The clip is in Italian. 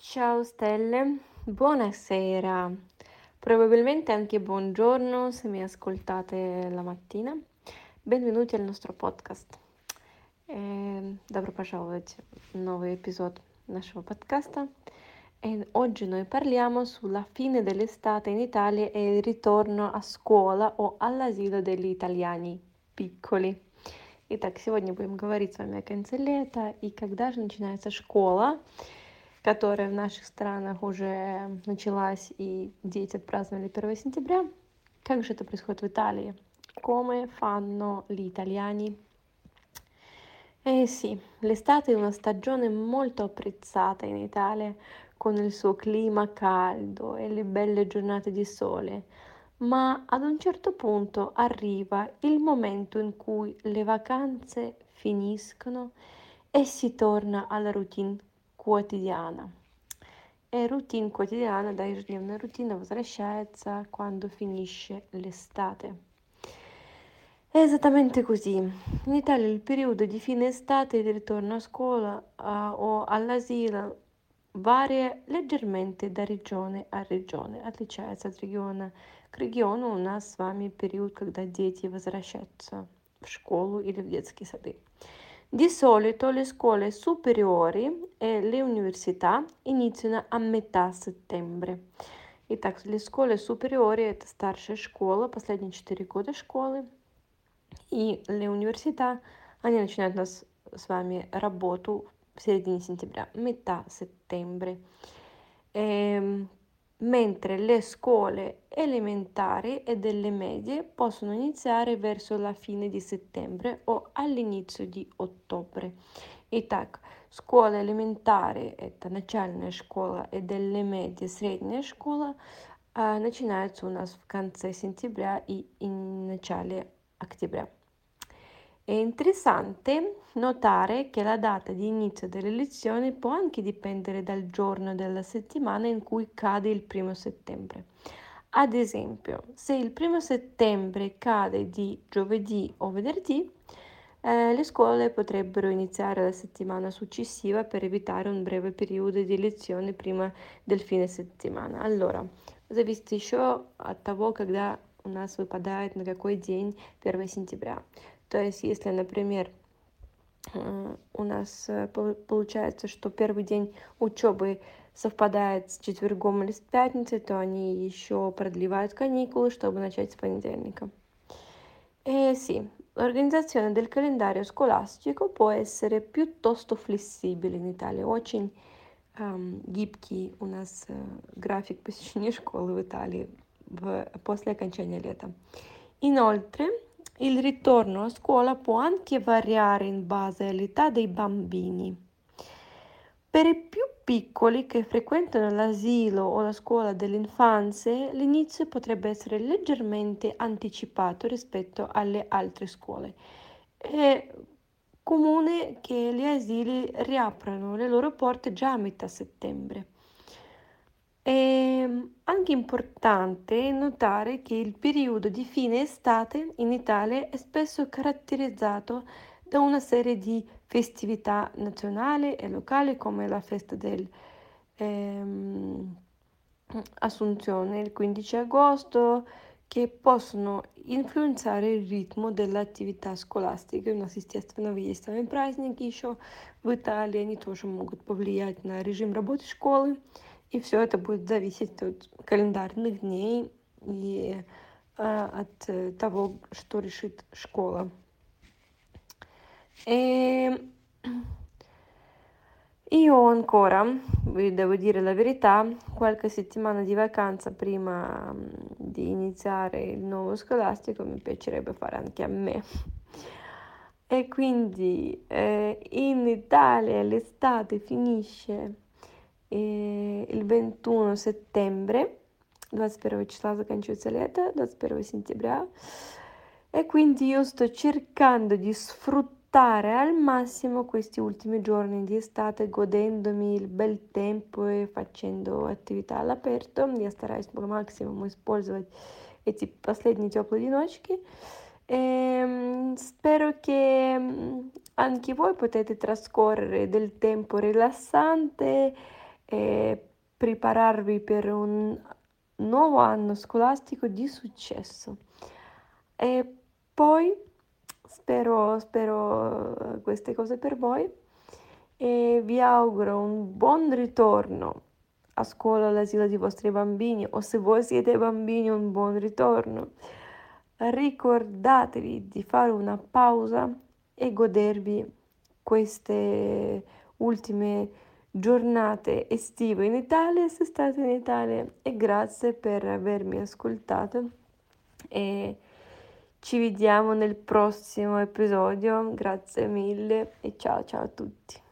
Ciao stelle, buonasera, probabilmente anche buongiorno se mi ascoltate la mattina. Benvenuti al nostro podcast. Добро пожаловать в новый эпизод нашего подкasta. E oggi noi parliamo sulla fine dell'estate in Italia e il ritorno a scuola o all'asilo degli italiani piccoli. Итак, сегодня будем говорить с вами о конце лета и когда же начинается школа, которая в наших странах уже началась, и дети отпраздновали 1 сентября. Как же это происходит в Италии? Come fanno gli italiani? Eh sì, l'estate è una stagione molto apprezzata in Italia, con il suo clima caldo e le belle giornate di sole, ma ad un certo punto arriva il momento in cui le vacanze finiscono e si torna alla routine quotidiana. E routine quotidiana, да, ежедневная рутина возвращается quando finisce l'estate. È esattamente così. In Italia il periodo di fine estate e di ritorno a scuola o all'asilo varia leggermente da региона a региона, отличается от региона к региону. У нас с вами период, когда дети возвращаются в школу или в детские сады. Di solito le scuole superiori e le università iniziano a metà settembre. Итак, le scuole superiori — это старшая школа, последние 4 года школы, и le università, они начинают у нас с вами работу в середине сентября, metà settembre. Mentre le scuole elementari e delle medie possono iniziare verso la fine di settembre o all'inizio di ottobre. Итак, школа элементари — это начальная школа, и delle medie — средняя школа, начинается у нас в конце сентября и in начале октября. È interessante notare che la data di inizio delle lezioni può anche dipendere dal giorno della settimana in cui cade il 1 settembre. Ad esempio, se il 1 settembre cade di giovedì o venerdì, le scuole potrebbero iniziare la settimana successiva per evitare un breve periodo di lezione prima del fine settimana. Allora, зависит еще от того, когда у нас выпадает на какой день 1 сентября. То есть, если, например, у нас получается, что первый день учебы совпадает с четвергом или с пятницей, то они еще продлевают каникулы, чтобы начать с понедельника. Sì, l'organizzazione del calendario scolastico può essere piuttosto flessibile in Italia. Очень гибкий у нас график посещения школы в Италии после окончания лета. Inoltre, il ritorno a scuola può anche variare in base all'età dei bambini. Per i più piccoli che frequentano l'asilo o la scuola dell'infanzia, l'inizio potrebbe essere leggermente anticipato rispetto alle altre scuole. È comune che gli asili riaprano le loro porte già a metà settembre. È anche importante notare che il periodo di fine estate in Italia è spesso caratterizzato da una serie di festività nazionali e locali come la festa del Assunzione il 15 agosto, che possoно influenzare il ритм дell'attività scolastica. У нас, естественно, есть с вами праздники еще в Италии, они тоже могут повлиять на режим работы школы, и все это будет зависеть от календарных дней и от того, что решит шкоla. Io ancora, vi devo dire la verità, qualche settimana di vacanza prima di iniziare il nuovo scolastico mi piacerebbe fare anche a me. E quindi in Italia l'estate finisce il 21 settembre, 21 числа заканчивается лето, 21 сентября, e quindi io sto cercando di sfruttare al massimo questi ultimi giorni di estate, godendomi il bel tempo и facendo attività all'aperto. Я стараюсь по максимуму использовать эти последние теплые денечки. Spero che anche voi potete trascorrere del tempo rilassante prepararvi per un nuovo anno scolastico di successo. E poi spero queste cose per voi e vi auguro un buon ritorno a scuola, all'asilo dei vostri bambini o se voi siete bambini un buon ritorno. Ricordatevi di fare una pausa e godervi queste ultime giornate estive in Italia se state in Italia e grazie per avermi ascoltato e ci vediamo nel prossimo episodio. Grazie mille e ciao ciao a tutti.